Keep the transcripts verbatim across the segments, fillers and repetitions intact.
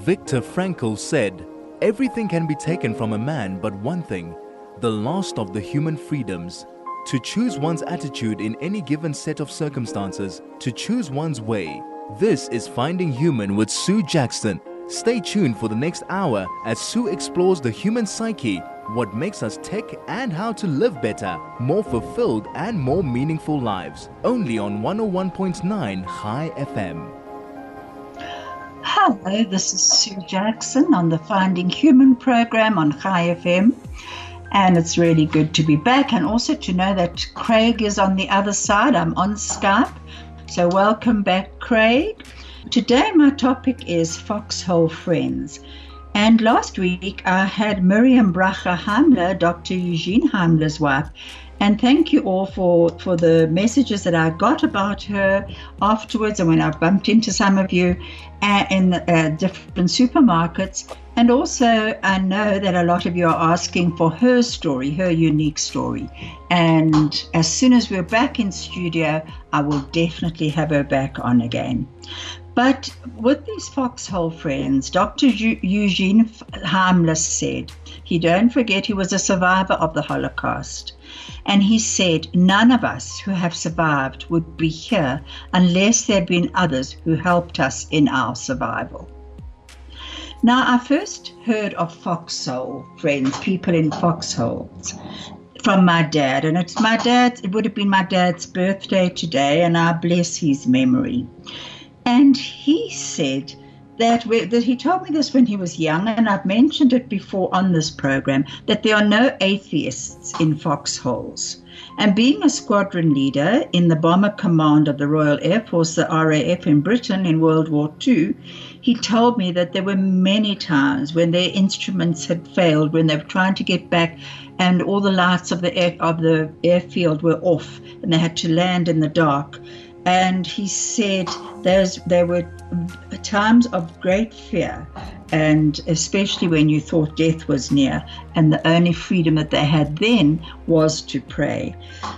Viktor Frankl said, "Everything can be taken from a man but one thing, the last of the human freedoms. To choose one's attitude in any given set of circumstances, to choose one's way." This is Finding Human with Sue Jackson. Stay tuned for the next hour as Sue explores the human psyche, what makes us tick, and how to live better, more fulfilled and more meaningful lives. Only on one oh one point nine High F M. Hello, this is Sue Jackson on the Finding Human program on High F M. And it's really good to be back, and also to know that Craig is on the other side. I'm on Skype. So welcome back, Craig. Today my topic is Foxhole Friends. And last week I had Miriam Bracha Heimler, Doctor Eugene Heimler's wife. And thank you all for, for the messages that I got about her afterwards, and when I bumped into some of you uh, in uh, different supermarkets. And also I know that a lot of you are asking for her story, her unique story. And as soon as we're back in studio, I will definitely have her back on again. But with these Foxhole Friends, Doctor Eugene Heimler said, he don't forget he was a survivor of the Holocaust. And he said, none of us who have survived would be here unless there had been others who helped us in our survival. Now, I first heard of Foxhole Friends, people in foxholes, from my dad. And it's my dad, it would have been my dad's birthday today, and I bless his memory. And he said that, we, that he told me this when he was young, and I've mentioned it before on this program, that there are no atheists in foxholes. And being a squadron leader in the Bomber Command of the Royal Air Force, the R A F in Britain in World War Two, he told me that there were many times when their instruments had failed, when they were trying to get back and all the lights of the air, of the airfield were off and they had to land in the dark. And he said there's, there were times of great fear, and especially when you thought death was near, and the only freedom that they had then was to pray.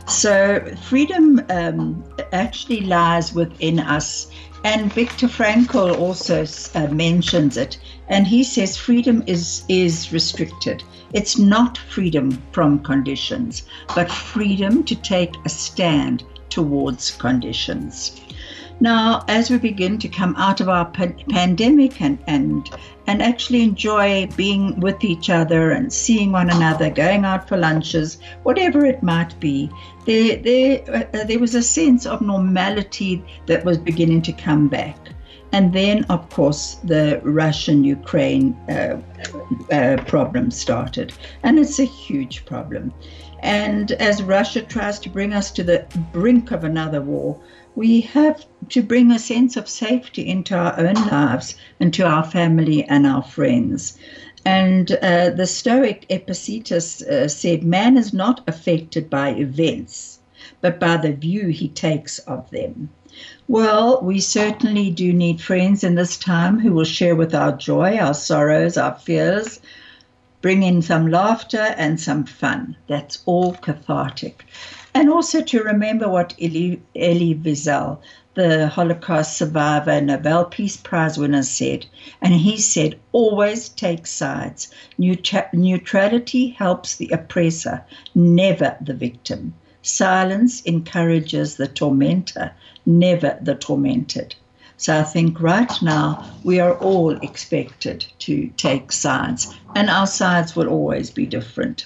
So freedom um, actually lies within us. And Viktor Frankl also uh, mentions it, and he says freedom is, is restricted. It's not freedom from conditions, but freedom to take a stand towards conditions. Now, as we begin to come out of our pa- pandemic and, and and actually enjoy being with each other and seeing one another, going out for lunches, whatever it might be, there there uh, there was a sense of normality that was beginning to come back. And then, of course, the Russian-Ukraine uh, uh, problem started, and it's a huge problem. And as Russia tries to bring us to the brink of another war, we have to bring a sense of safety into our own lives and to our family and our friends. And uh, the Stoic Epictetus uh, said, man is not affected by events, but by the view he takes of them. Well, we certainly do need friends in this time who will share with our joy, our sorrows, our fears, bring in some laughter and some fun. That's all cathartic. And also to remember what Elie, Elie Wiesel, the Holocaust survivor, Nobel Peace Prize winner, said. And he said, always take sides. Neut- neutrality helps the oppressor, never the victim. Silence encourages the tormentor, never the tormented. So I think right now we are all expected to take sides, and our sides will always be different.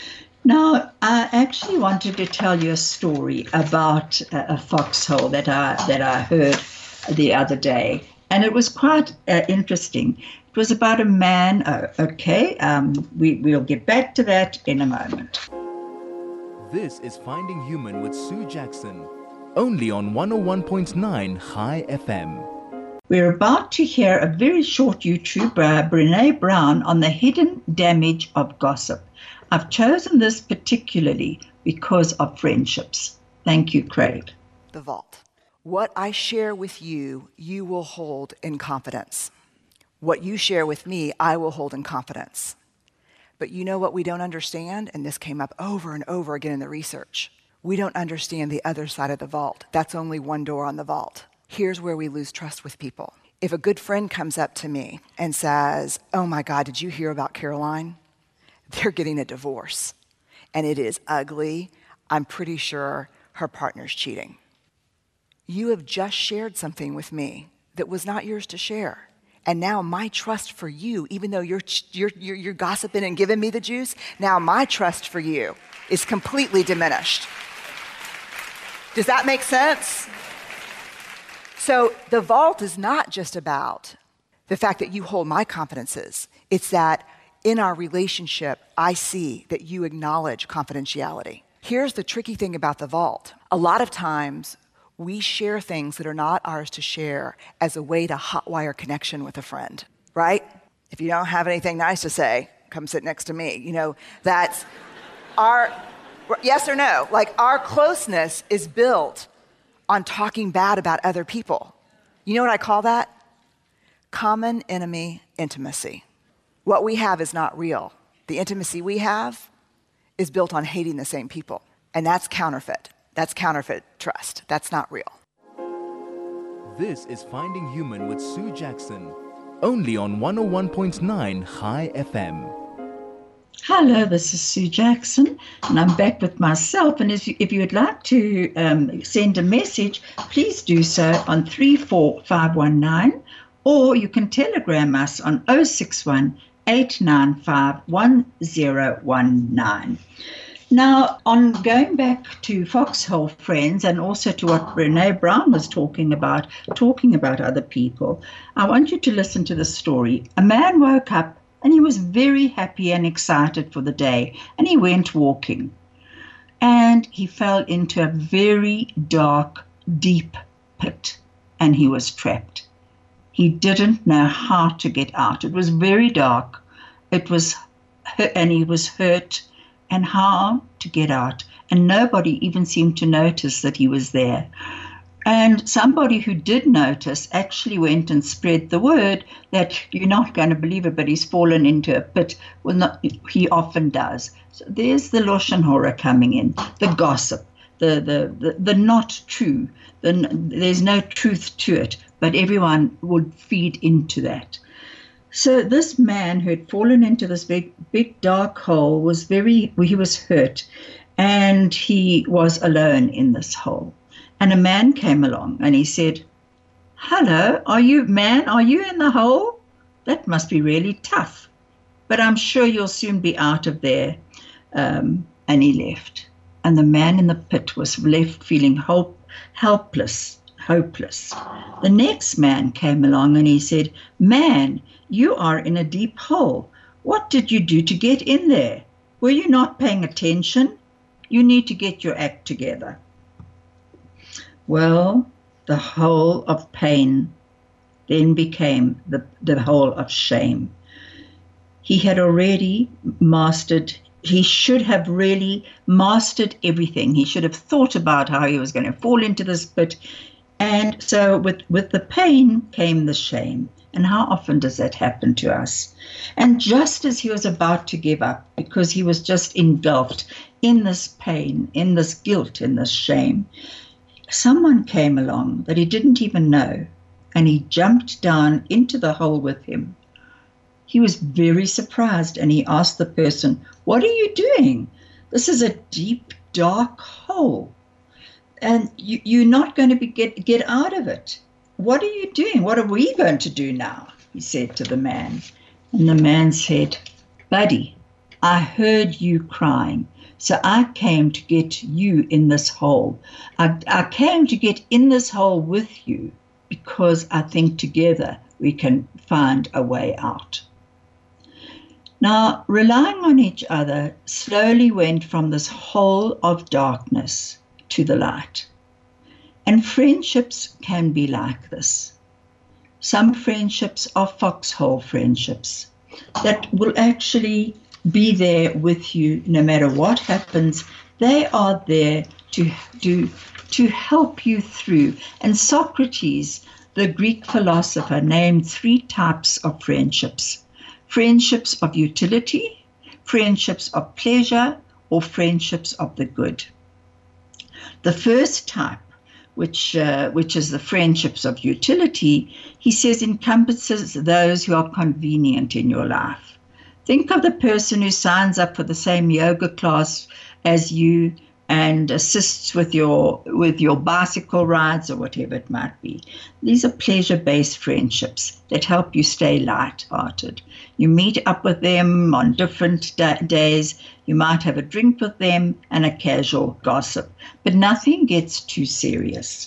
Now, I actually wanted to tell you a story about a, a foxhole that I that I heard the other day, and it was quite uh, interesting. It was about a man. Uh, okay, um, we we'll get back to that in a moment. This is Finding Human with Sue Jackson, only on one oh one point nine High F M. We're about to hear a very short YouTube by Brené Brown on the hidden damage of gossip. I've chosen this particularly because of friendships. Thank you, Craig. The vault. What I share with you, you will hold in confidence. What you share with me, I will hold in confidence. But you know what we don't understand? And this came up over and over again in the research. We don't understand the other side of the vault. That's only one door on the vault. Here's where we lose trust with people. if a good friend comes up to me and says, oh my God, did you hear about Caroline? They're getting a divorce, and it is ugly. I'm pretty sure her partner's cheating. You have just shared something with me that was not yours to share. And now my trust for you, even though you're, you're, you're, you're gossiping and giving me the juice, now my trust for you is completely diminished. Does that make sense? So the vault is not just about the fact that you hold my confidences. It's that in our relationship, I see that you acknowledge confidentiality. Here's the tricky thing about the vault. A lot of times, we share things that are not ours to share as a way to hotwire connection with a friend, right? If you don't have anything nice to say, come sit next to me. You know, that's our, yes or no? Like, our closeness is built on talking bad about other people. You know what I call that? Common enemy intimacy. What we have is not real. The intimacy we have is built on hating the same people, and that's counterfeit. That's counterfeit trust. That's not real. This is Finding Human with Sue Jackson, only on one oh one point nine High F M. Hello, this is Sue Jackson, and I'm back with myself. And if you, if you would like to um, send a message, please do so on three four five one nine, or you can telegram us on oh six one, eight nine five, one oh one nine. Now, on going back to Foxhole Friends and also to what Brené Brown was talking about, talking about other people, I want you to listen to the story. A man woke up and he was very happy and excited for the day, and he went walking. And he fell into a very dark, deep pit, and he was trapped. He didn't know how to get out. It was very dark. It was, and he was hurt. And how to get out. And nobody even seemed to notice that he was there. And somebody who did notice actually went and spread the word that you're not going to believe it, but he's fallen into a pit. Well, not, he often does. So there's the Lashon Hara coming in, the gossip, the, the, the, the not true. The, there's no truth to it, but everyone would feed into that. So this man who had fallen into this big, big dark hole was very, he was hurt, and he was alone in this hole. And a man came along and he said, hello, are you, man, are you in the hole? That must be really tough, but I'm sure you'll soon be out of there. Um, and he left. And the man in the pit was left feeling hope, helpless, hopeless. The next man came along and he said, man, you are in a deep hole. What did you do to get in there? Were you not paying attention? You need to get your act together. Well, the hole of pain then became the, the hole of shame. He had already mastered, he should have really mastered everything. He should have thought about how he was going to fall into this pit. And so with, with the pain came the shame. And how often does that happen to us? And just as he was about to give up, because he was just engulfed in this pain, in this guilt, in this shame, someone came along that he didn't even know, and he jumped down into the hole with him. He was very surprised, and he asked the person, what are you doing? This is a deep, dark hole, and you, you're not going to be get, get out of it. What are you doing? What are we going to do now? He said to the man. And the man said, buddy, I heard you crying, so I came to get you in this hole. I, I came to get in this hole with you because I think together we can find a way out. Now, relying on each other slowly went from this hole of darkness to the light. And friendships can be like this. Some friendships are foxhole friendships that will actually be there with you no matter what happens. They are there to do to help you through. And Socrates, the Greek philosopher, named three types of friendships. Friendships of utility, friendships of pleasure, or friendships of the good. The first type which uh, which is the friendships of utility, he says encompasses those who are convenient in your life. Think of the person who signs up for the same yoga class as you and assists with your with your bicycle rides or whatever it might be. These are pleasure-based friendships that help you stay light-hearted. You meet up with them on different da- days. You might have a drink with them and a casual gossip, but nothing gets too serious.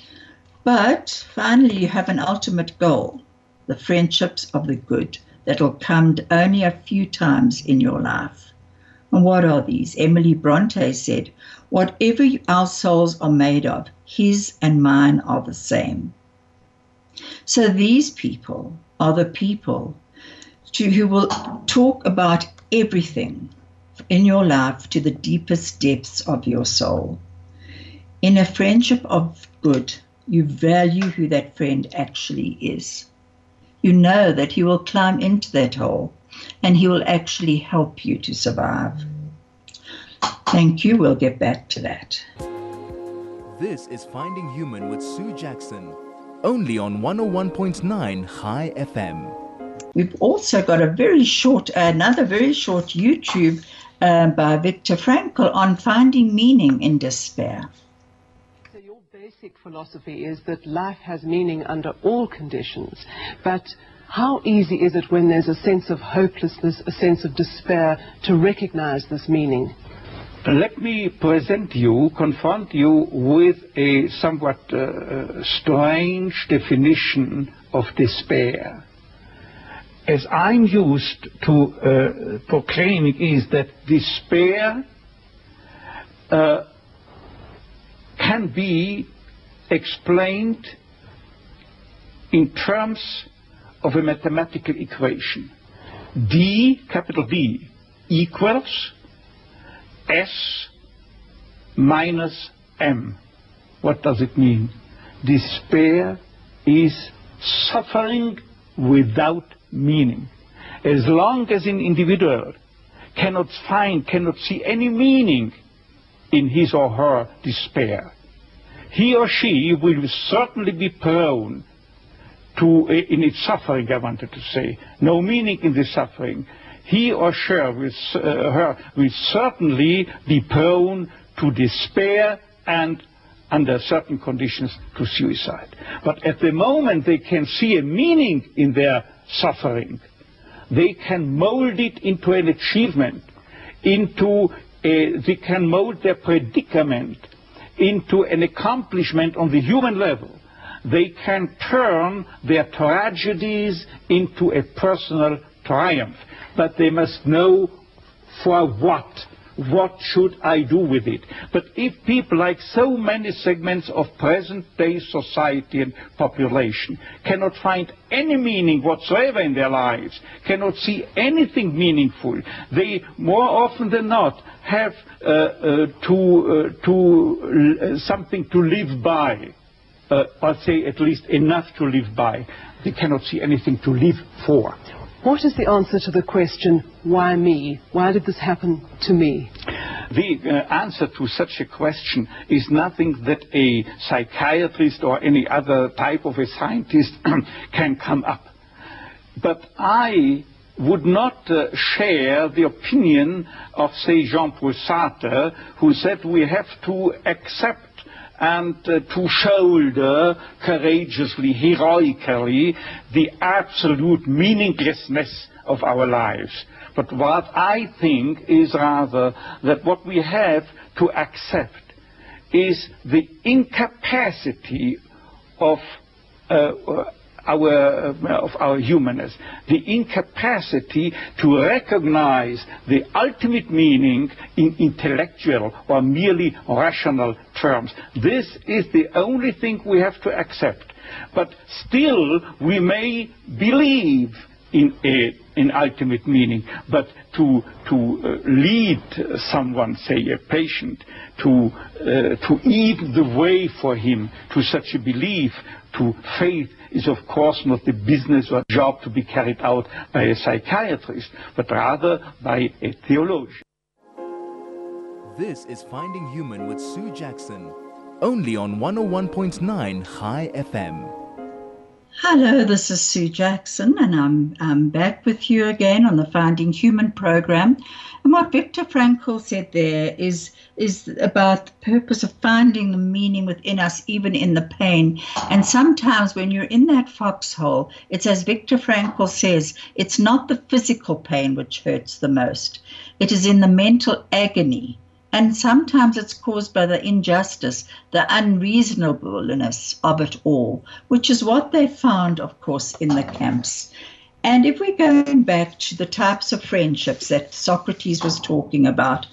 But finally, you have an ultimate goal, the friendships of the good that will come only a few times in your life. And what are these? Emily Bronte said, whatever our souls are made of, his and mine are the same. So these people are the people to, who will talk about everything in your life to the deepest depths of your soul. In a friendship of good, you value who that friend actually is. You know that he will climb into that hole and he will actually help you to survive. Thank you. We'll get back to that. This is Finding Human with Sue Jackson, only on one oh one point nine High F M. We've also got a very short, another very short YouTube uh, by Viktor Frankl on finding meaning in despair. So your basic philosophy is that life has meaning under all conditions, but how easy is it when there's a sense of hopelessness, a sense of despair, to recognize this meaning? Let me present you, confront you with a somewhat uh, strange definition of despair. As I'm used to uh, proclaiming is that despair uh, can be explained in terms of a mathematical equation. D, capital D, equals S minus M. What does it mean? Despair is suffering without meaning. As long as an individual cannot find, cannot see any meaning in his or her despair, he or she will certainly be prone to, in its suffering, I wanted to say, no meaning in the suffering. He or she will, uh, her will certainly be prone to despair and, under certain conditions, to suicide. But at the moment they can see a meaning in their suffering, they can mold it into an achievement, into a, they can mold their predicament into an accomplishment on the human level. They can turn their tragedies into a personal triumph. But they must know for what. What should I do with it? But if people, like so many segments of present-day society and population, cannot find any meaning whatsoever in their lives, cannot see anything meaningful, they more often than not have uh, uh, to, uh, to uh, something to live by, uh, or say at least enough to live by. They cannot see anything to live for. What is the answer to the question, why me? Why did this happen to me? The uh, answer to such a question is nothing that a psychiatrist or any other type of a scientist can come up. But I would not uh, share the opinion of, say, Jean-Paul Sartre, who said we have to accept and uh, to shoulder courageously, heroically, the absolute meaninglessness of our lives. But what I think is rather that what we have to accept is the incapacity of uh, our, uh, of our humanness, the incapacity to recognize the ultimate meaning in intellectual or merely rational terms. This is the only thing we have to accept. But still, we may believe in a, in ultimate meaning, but to, to uh, lead someone, say a patient, to, uh, to eat the way for him to such a belief, to faith, is of course not the business or job to be carried out by a psychiatrist, but rather by a theologian. This is Finding Human with Sue Jackson, only on one oh one point nine High F M. Hello, this is Sue Jackson, and I'm, I'm back with you again on the Finding Human program. And what Viktor Frankl said there is, is about the purpose of finding the meaning within us, even in the pain. And sometimes when you're in that foxhole, it's as Viktor Frankl says, it's not the physical pain which hurts the most. It is in the mental agony. And sometimes it's caused by the injustice, the unreasonableness of it all, which is what they found, of course, in the camps. And if we're going back to the types of friendships that Socrates was talking about,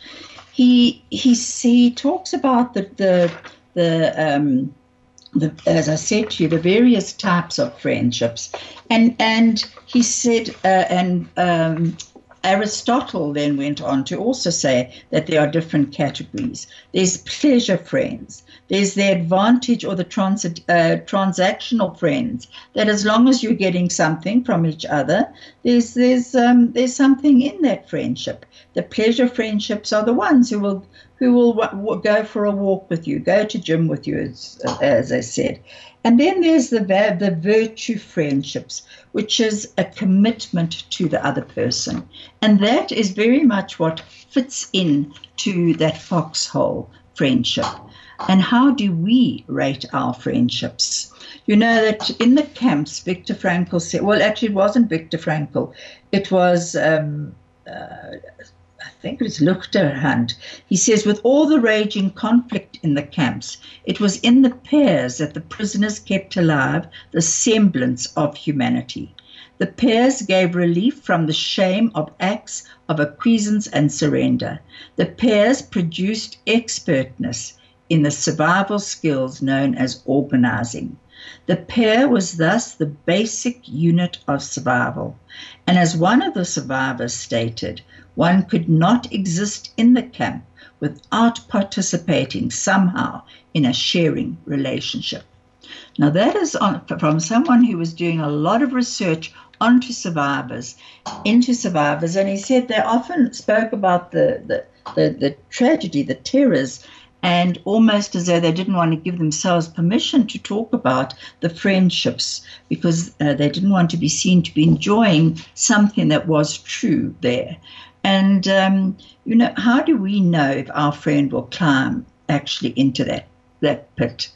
he he, he talks about the the the um, the, as I said to you, the various types of friendships, and and he said uh, and. Um, Aristotle then went on to also say that there are different categories. There's pleasure friends. There's the advantage or the trans- uh, transactional friends, that as long as you're getting something from each other, there's there's um, there's something in that friendship. The pleasure friendships are the ones who will who will w- w- go for a walk with you, go to gym with you, as, as I said. And then there's the the virtue friendships, which is a commitment to the other person. And that is very much what fits in to that foxhole friendship. And how do we rate our friendships? You know that in the camps, Viktor Frankl said, well, actually it wasn't Viktor Frankl. It was, um, uh, I think it was Luchterhand. He says, with all the raging conflict in the camps, it was in the pairs that the prisoners kept alive the semblance of humanity. The pairs gave relief from the shame of acts of acquiescence and surrender. The pairs produced expertness in the survival skills known as organizing. The pair was thus the basic unit of survival. And as one of the survivors stated, one could not exist in the camp without participating somehow in a sharing relationship. Now that is on, from someone who was doing a lot of research onto survivors, into survivors, and he said they often spoke about the, the, the, the tragedy, the terrors, and almost as though they didn't want to give themselves permission to talk about the friendships because uh, they didn't want to be seen to be enjoying something that was true there. And, um, you know, how do we know if our friend will climb actually into that, that pit?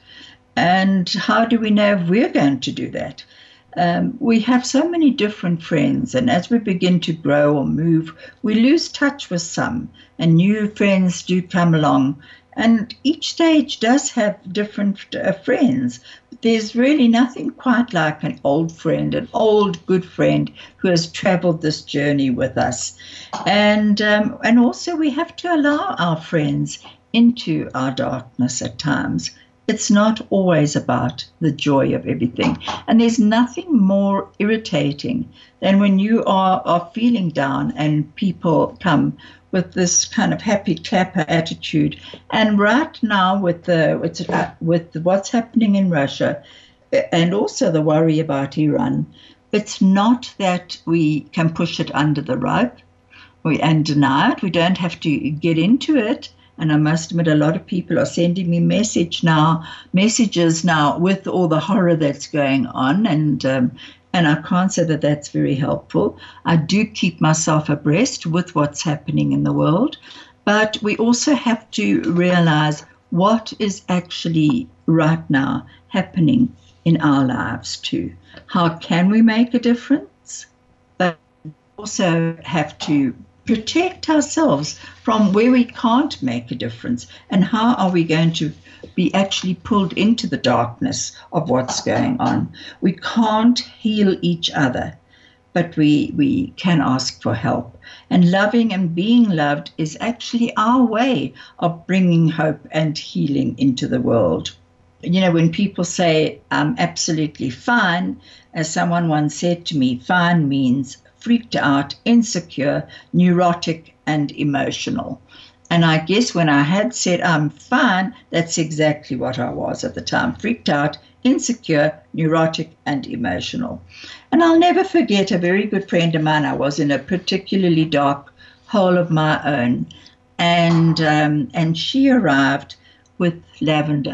And how do we know if we're going to do that? Um, we have so many different friends, and as we begin to grow or move, we lose touch with some, and new friends do come along. And each stage does have different uh, friends. But there's really nothing quite like an old friend, an old good friend who has traveled this journey with us. And um, and also we have to allow our friends into our darkness at times. It's not always about the joy of everything. And there's nothing more irritating than when you are, are feeling down and people come with this kind of happy clapper attitude. And right now with the with, uh, with what's happening in Russia and also the worry about Iran, it's not that we can push it under the rug we, and deny it. We don't have to get into it. And I must admit, a lot of people are sending me message now, messages now with all the horror that's going on. And um, and I can't say that that's very helpful. I do keep myself abreast with what's happening in the world. But we also have to realize what is actually right now happening in our lives too. How can we make a difference? But we also have to protect ourselves from where we can't make a difference. And how are we going to be actually pulled into the darkness of what's going on? We can't heal each other, but we, we can ask for help. And loving and being loved is actually our way of bringing hope and healing into the world. You know, when people say, I'm absolutely fine, as someone once said to me, fine means freaked out, insecure, neurotic, and emotional. And I guess when I had said I'm fine, that's exactly what I was at the time, freaked out, insecure, neurotic, and emotional. And I'll never forget a very good friend of mine. I was in a particularly dark hole of my own, and um, and she arrived with lavender.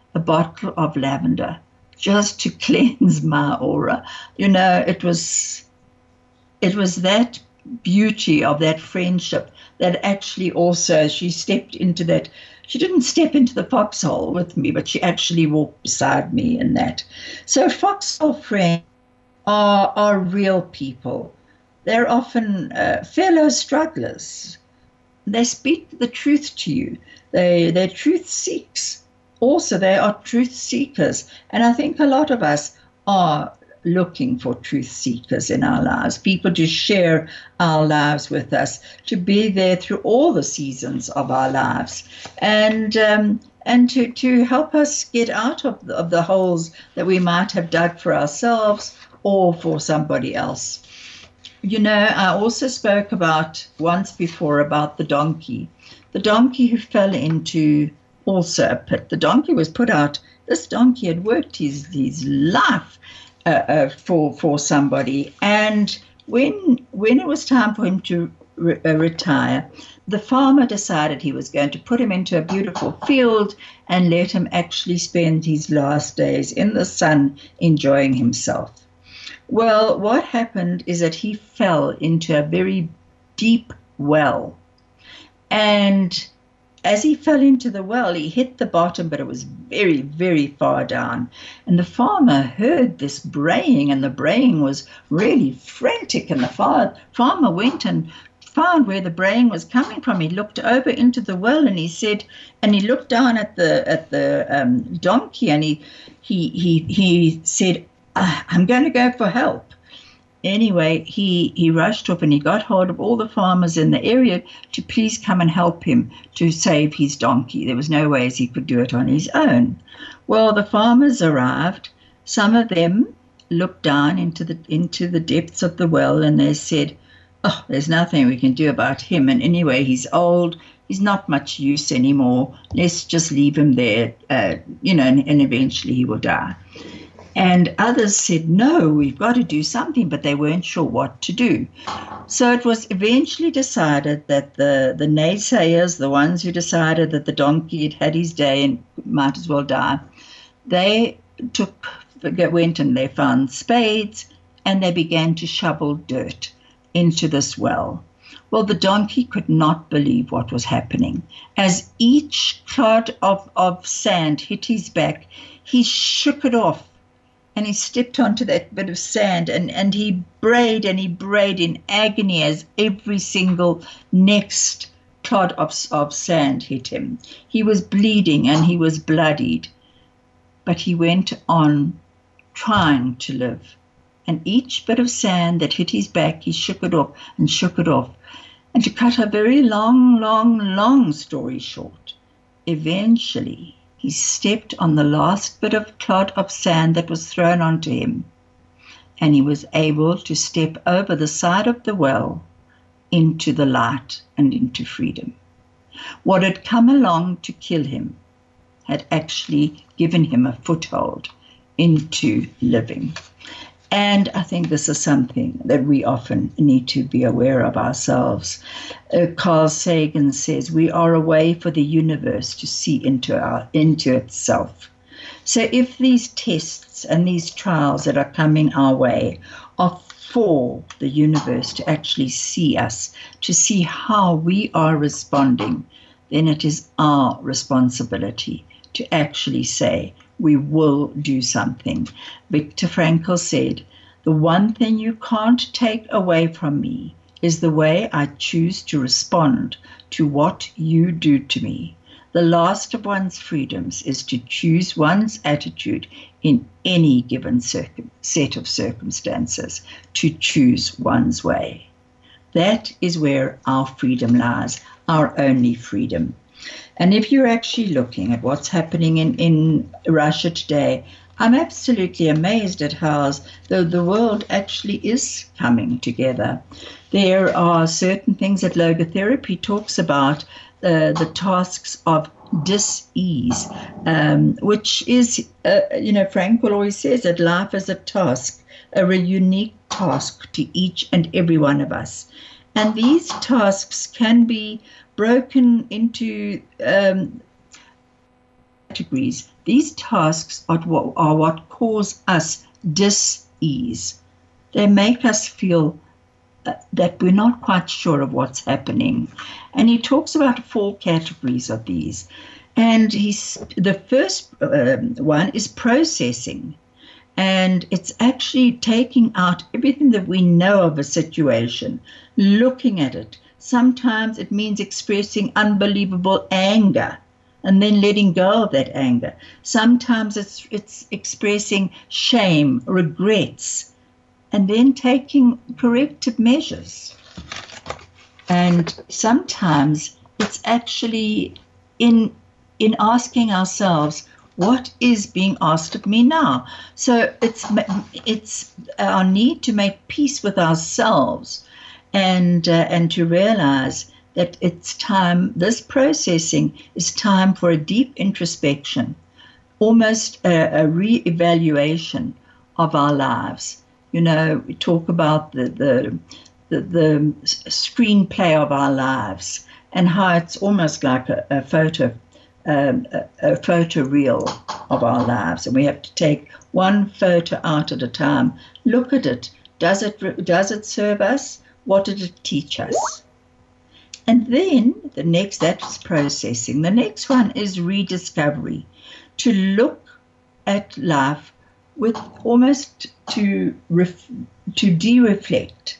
a bottle of lavender just to cleanse my aura. You know, it was, it was that beauty of that friendship that actually also she stepped into that. She didn't step into the foxhole with me, but she actually walked beside me in that. So foxhole friends are, are real people. They're often uh, fellow strugglers. They speak the truth to you. They, they're truth seeks. Also, they are truth seekers. And I think a lot of us are looking for truth seekers in our lives, people to share our lives with us, to be there through all the seasons of our lives, and um, and to, to help us get out of the, of the holes that we might have dug for ourselves or for somebody else. You know, I also spoke about once before about the donkey, the donkey who fell into also a pit. The donkey was put out. This donkey had worked his, his life Uh, uh, for for somebody, and when when it was time for him to re- uh, retire, the farmer decided he was going to put him into a beautiful field and let him actually spend his last days in the sun enjoying himself. Well, what happened is that he fell into a very deep well, and as he fell into the well, he hit the bottom, but it was very, very far down. And the farmer heard this braying, and the braying was really frantic. And the far, farmer went and found where the braying was coming from. He looked over into the well, and he said, and he looked down at the at the um, donkey, and he he he he said, "I'm going to go for help." Anyway, he, he rushed up and he got hold of all the farmers in the area to please come and help him to save his donkey. There was no ways he could do it on his own. Well, the farmers arrived. Some of them looked down into the into the depths of the well, and they said, "Oh, there's nothing we can do about him. And anyway, he's old. He's not much use anymore. Let's just leave him there, uh, you know, and, and eventually he will die." And others said, "No, we've got to do something," but they weren't sure what to do. So it was eventually decided that the, the naysayers, the ones who decided that the donkey had had his day and might as well die, they took, went and they found spades and they began to shovel dirt into this well. Well, the donkey could not believe what was happening. As each clod of, of sand hit his back, he shook it off. And he stepped onto that bit of sand, and, and he brayed and he brayed in agony as every single next clod of, of sand hit him. He was bleeding and he was bloodied, but he went on trying to live. And each bit of sand that hit his back, he shook it off and shook it off. And to cut a very long, long, long story short, eventually he stepped on the last bit of clod of sand that was thrown onto him, and he was able to step over the side of the well into the light and into freedom. What had come along to kill him had actually given him a foothold into living. And I think this is something that we often need to be aware of ourselves. Uh, Carl Sagan says, we are a way for the universe to see into our into itself. So if these tests and these trials that are coming our way are for the universe to actually see us, to see how we are responding, then it is our responsibility to actually say, we will do something. Viktor Frankl said, the one thing you can't take away from me is the way I choose to respond to what you do to me. The last of one's freedoms is to choose one's attitude in any given circum- set of circumstances, to choose one's way. That is where our freedom lies, our only freedom. And if you're actually looking at what's happening in, in Russia today, I'm absolutely amazed at how the, the world actually is coming together. There are certain things that logotherapy talks about, uh, the tasks of dis-ease, um, which is, uh, you know, Frankl always says that life is a task, a unique task to each and every one of us. And these tasks can be broken into um, categories, these tasks are what, are what cause us dis-ease. They make us feel uh, that we're not quite sure of what's happening. And he talks about four categories of these. And he's, the first um, one is processing. And it's actually taking out everything that we know of a situation, looking at it. Sometimes it means expressing unbelievable anger and then letting go of that anger. Sometimes it's it's expressing shame, regrets, and then taking corrective measures. And sometimes it's actually in in asking ourselves, what is being asked of me now? So it's it's our need to make peace with ourselves and uh, and to realize that it's time, this processing is time for a deep introspection, almost a, a re-evaluation of our lives. You know, we talk about the, the, the, the screenplay of our lives and how it's almost like a, a photo, um, a, a photo reel of our lives. And we have to take one photo out at a time, look at it. Does it, does it serve us? What did it teach us? And then the next, that's processing. The next one is rediscovery, to look at life with almost to ref, to de-reflect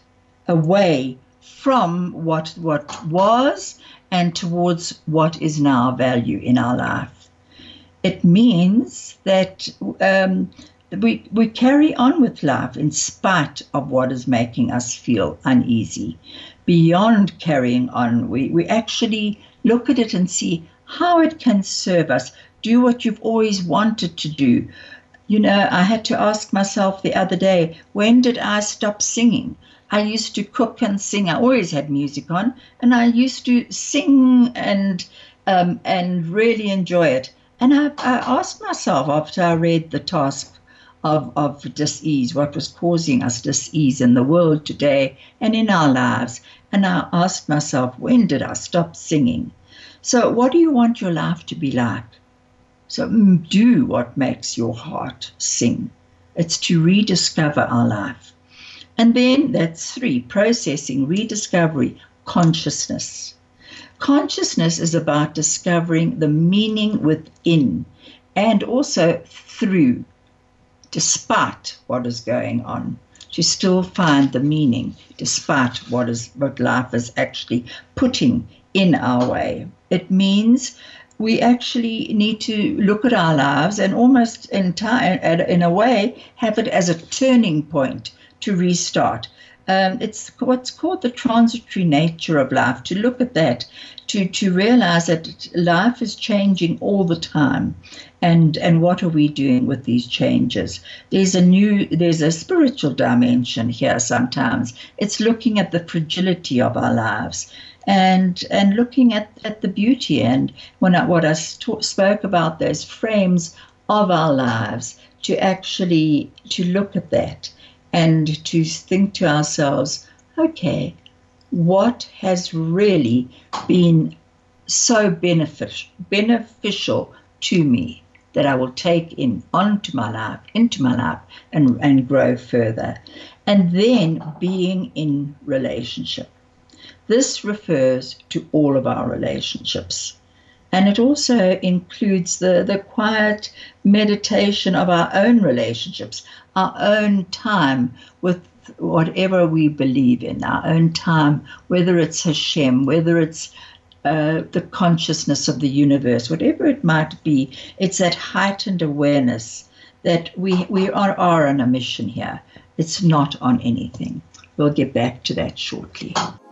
away from what what was and towards what is now value in our life. It means that um, we we carry on with life in spite of what is making us feel uneasy. Beyond carrying on, we, we actually look at it and see how it can serve us. Do what you've always wanted to do. You know, I had to ask myself the other day, when did I stop singing? I used to cook and sing. I always had music on, and I used to sing and um, and really enjoy it. And I, I asked myself after I read the task of, of dis-ease, what was causing us dis-ease in the world today and in our lives. And I asked myself, when did I stop singing? So what do you want your life to be like? So do what makes your heart sing. It's to rediscover our life. And then that's three, processing, rediscovery, consciousness. Consciousness is about discovering the meaning within and also through, despite what is going on, to still find the meaning despite what is what life is actually putting in our way. It means we actually need to look at our lives and almost in time, in a way, have it as a turning point to restart. Um, it's what's called the transitory nature of life, to look at that, to, to realize that life is changing all the time. And and what are we doing with these changes? There's a new, there's a spiritual dimension here sometimes. It's looking at the fragility of our lives and and looking at, at the beauty. And when I, what I st- spoke about, those frames of our lives, to actually to look at that and to think to ourselves, okay, what has really been so beneficial, beneficial to me that I will take in onto my life, into my life, and, and grow further. And then being in relationship. This refers to all of our relationships. And it also includes the, the quiet meditation of our own relationships, our own time with whatever we believe in, our own time, whether it's Hashem, whether it's uh, the consciousness of the universe, whatever it might be. It's that heightened awareness that we, we are, are on a mission here. It's not on anything. We'll get back to that shortly.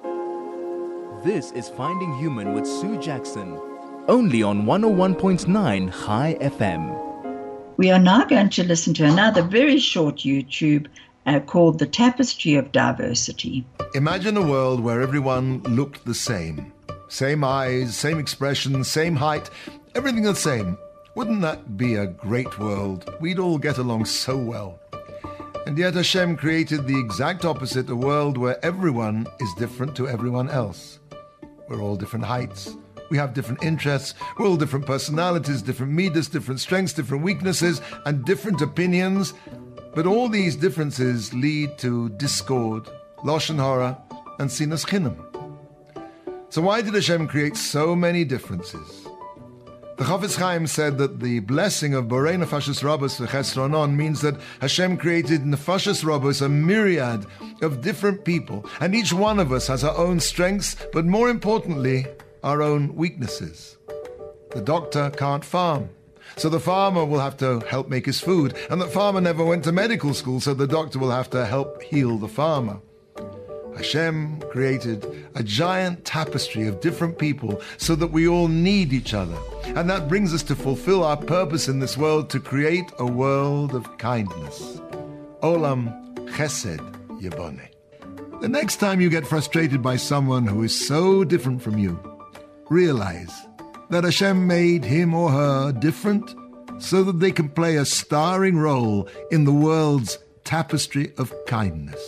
This is Finding Human with Sue Jackson, only on one oh one point nine High F M. We are now going to listen to another very short YouTube uh, called The Tapestry of Diversity. Imagine a world where everyone looked the same. Same eyes, same expression, same height, everything the same. Wouldn't that be a great world? We'd all get along so well. And yet Hashem created the exact opposite, a world where everyone is different to everyone else. We're all different heights, We have different interests, we're all different personalities, different midas, different strengths, different weaknesses, and different opinions. But all these differences lead to discord, lashon hara, and sinas chinam. So why did Hashem create so many differences? The Chafetz Chaim said that the blessing of Borei Nefashos Rabos v'Chesronon means that Hashem created Nefashos Rabos, a myriad of different people, and each one of us has our own strengths, but more importantly, our own weaknesses. The doctor can't farm, so the farmer will have to help make his food, and the farmer never went to medical school, so the doctor will have to help heal the farmer. Hashem created a giant tapestry of different people so that we all need each other. And that brings us to fulfill our purpose in this world, to create a world of kindness. Olam Chesed Yeboneh. The next time you get frustrated by someone who is so different from you, realize that Hashem made him or her different so that they can play a starring role in the world's tapestry of kindness.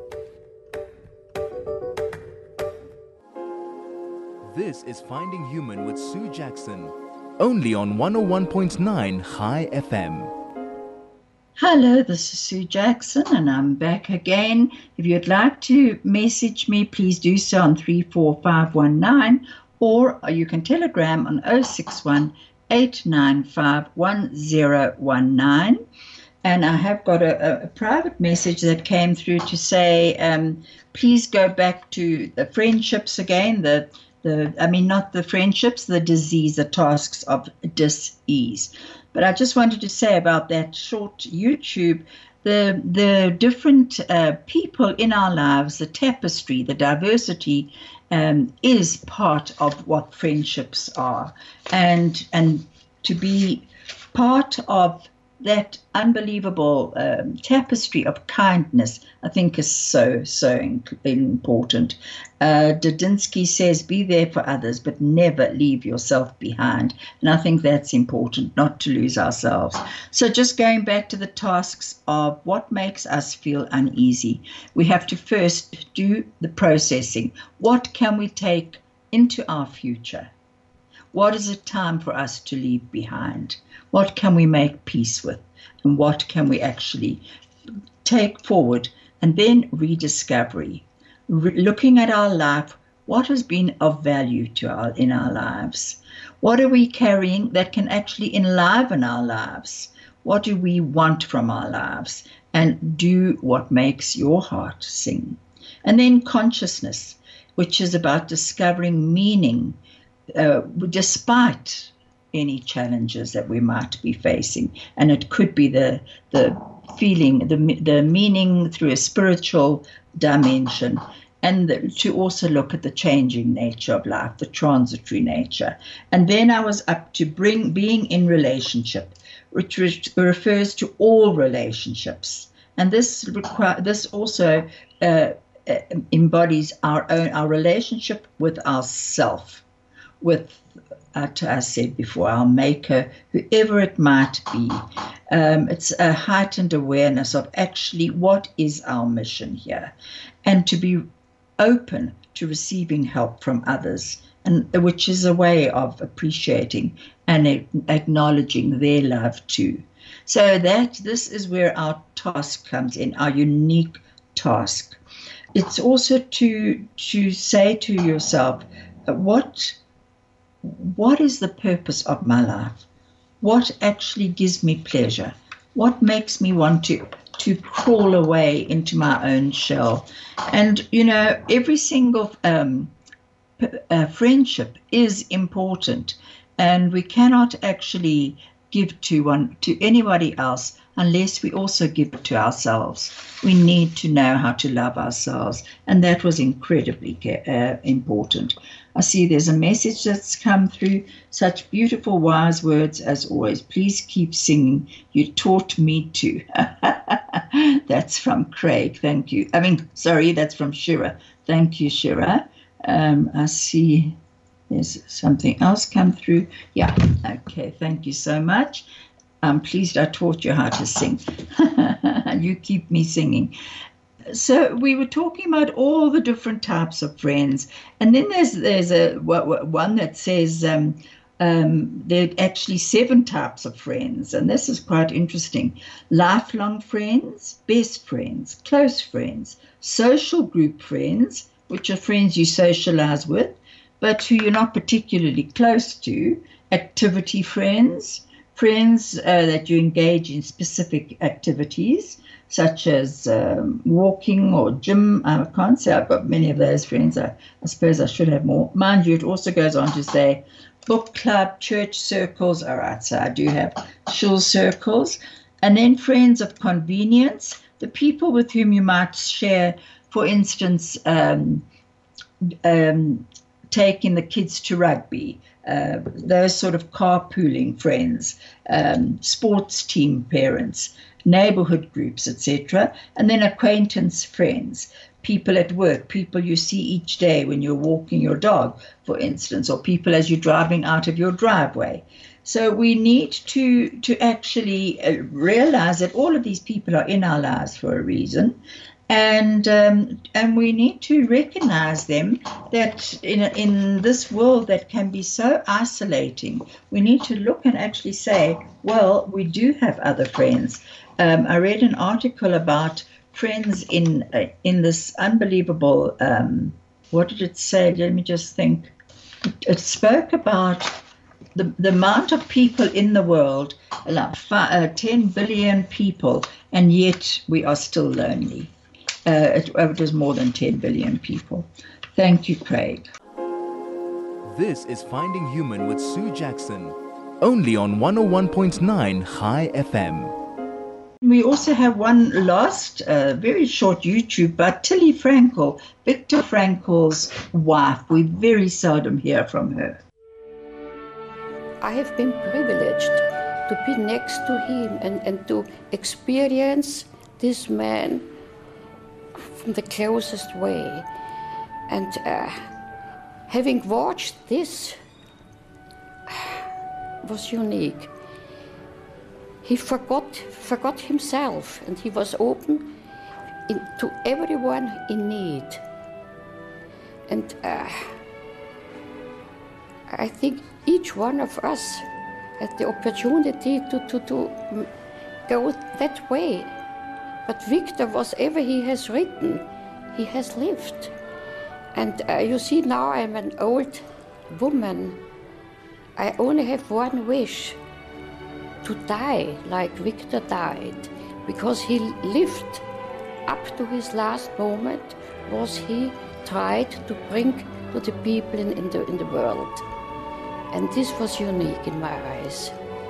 This is Finding Human with Sue Jackson, only on one oh one point nine High F M. Hello, this is Sue Jackson, and I'm back again. If you'd like to message me, please do so on three four five one nine, or you can telegram on oh six one, eight nine five, one oh one nine. And I have got a, a private message that came through to say, um, please go back to the friendships again, the The, I mean, not the friendships, the disease, the tasks of dis-ease. But I just wanted to say about that short YouTube, the the different uh, people in our lives, the tapestry, the diversity um, is part of what friendships are. And, and to be part of that unbelievable um, tapestry of kindness, I think, is so, so important. Uh, Dudinsky says, be there for others, but never leave yourself behind. And I think that's important, not to lose ourselves. So just going back to the tasks of what makes us feel uneasy, we have to first do the processing. What can we take into our future? What is it time for us to leave behind? What can we make peace with? And what can we actually take forward? And then rediscovery. Re- looking at our life, what has been of value to our in our lives? What are we carrying that can actually enliven our lives? What do we want from our lives? And do what makes your heart sing. And then consciousness, which is about discovering meaning uh, despite any challenges that we might be facing. And it could be the the feeling, the the meaning through a spiritual dimension, and the, to also look at the changing nature of life, the transitory nature. And then I was up to bring being in relationship, which refers to all relationships. And this require, this also uh, embodies our own our relationship with ourself, with Uh, as I said before, our maker, whoever it might be. Um, it's a heightened awareness of actually what is our mission here, and to be open to receiving help from others, and which is a way of appreciating and acknowledging their love too. So that this is where our task comes in, our unique task. It's also to to say to yourself, what What is the purpose of my life? What actually gives me pleasure? What makes me want to, to crawl away into my own shell? And, you know, every single um, p- uh, friendship is important, and we cannot actually give to one to anybody else unless we also give it to ourselves. We need to know how to love ourselves, and that was incredibly uh, important. I see there's a message that's come through. Such beautiful, wise words as always. Please keep singing. You taught me to. That's from Craig. Thank you. I mean, sorry, that's from Shira. Thank you, Shira. Um, I see there's something else come through. Yeah. Okay. Thank you so much. I'm pleased I taught you how to sing. You keep me singing. So we were talking about all the different types of friends, and then there's there's a one that says um, um, there are actually seven types of friends, and this is quite interesting: lifelong friends, best friends, close friends, social group friends, which are friends you socialize with, but who you're not particularly close to, activity friends, friends uh, that you engage in specific activities, such as um, walking or gym. I can't say I've got many of those friends. I, I suppose I should have more. Mind you, it also goes on to say book club, church circles. All right, so I do have shul circles. And then friends of convenience, the people with whom you might share, for instance, um, um, taking the kids to rugby, uh, those sort of carpooling friends, um, sports team parents, neighborhood groups, et cetera, and then acquaintance friends, people at work, people you see each day when you're walking your dog, for instance, or people as you're driving out of your driveway. So we need to to actually uh, realize that all of these people are in our lives for a reason, and um, and we need to recognize them, that in in this world that can be so isolating, we need to look and actually say, well, we do have other friends. Um, I read an article about friends in uh, in this unbelievable, um, what did it say? Let me just think. It, it spoke about the, the amount of people in the world, like five, uh, ten billion people, and yet we are still lonely. Uh, it, it was more than ten billion people. Thank you, Craig. This is Finding Human with Sue Jackson, only on one oh one point nine High F M. We also have one last, uh, very short YouTube by Tilly Frankel, Viktor Frankel's wife. We very seldom hear from her. I have been privileged to be next to him and, and to experience this man from the closest way. And uh, having watched this was unique. He forgot, forgot himself, and he was open in, to everyone in need. And uh, I think each one of us had the opportunity to, to, to go that way. But Victor, whatever he has written, he has lived. And uh, you see, now I'm an old woman. I only have one wish: to die like Victor died, because he lived up to his last moment, was he tried to bring to the people in, in, the, in the world. And this was unique in my eyes.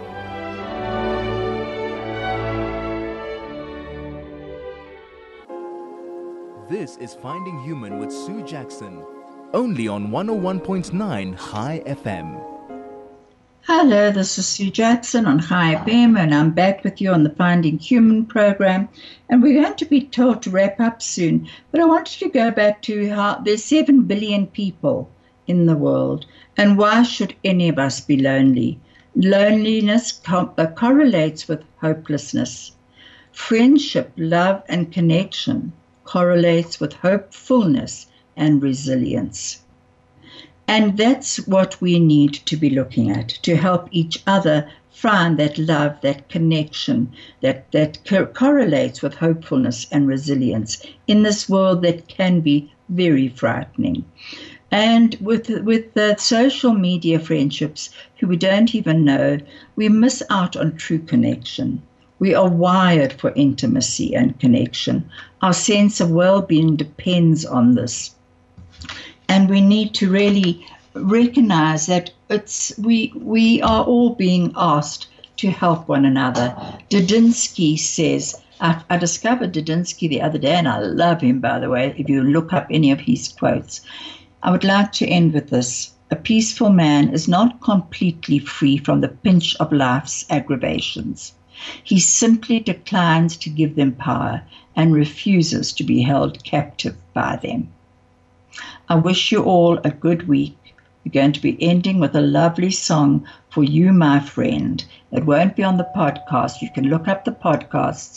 This is Finding Human with Sue Jackson, only on one oh one point nine High F M. Hello, this is Sue Jackson on High F M, and I'm back with you on the Finding Human program. And we're going to be told to wrap up soon, but I wanted to go back to how there's seven billion people in the world, and why should any of us be lonely? Loneliness co- uh, correlates with hopelessness. Friendship, love, and connection correlates with hopefulness and resilience. And that's what we need to be looking at, to help each other find that love, that connection, that, that co- correlates with hopefulness and resilience in this world that can be very frightening. And with, with the social media friendships who we don't even know, we miss out on true connection. We are wired for intimacy and connection. Our sense of well-being depends on this. And we need to really recognize that it's we we are all being asked to help one another. Didinsky says, I, I discovered Didinsky the other day, and I love him, by the way, if you look up any of his quotes. I would like to end with this. A peaceful man is not completely free from the pinch of life's aggravations. He simply declines to give them power and refuses to be held captive by them. I wish you all a good week. We're going to be ending with a lovely song for you, my friend. It won't be on the podcast. You can look up the podcasts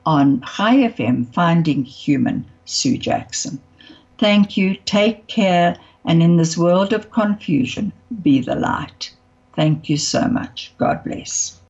on Chai F M, Finding Human, Sue Jackson. Thank you, take care, and in this world of confusion, be the light. Thank you so much. God bless.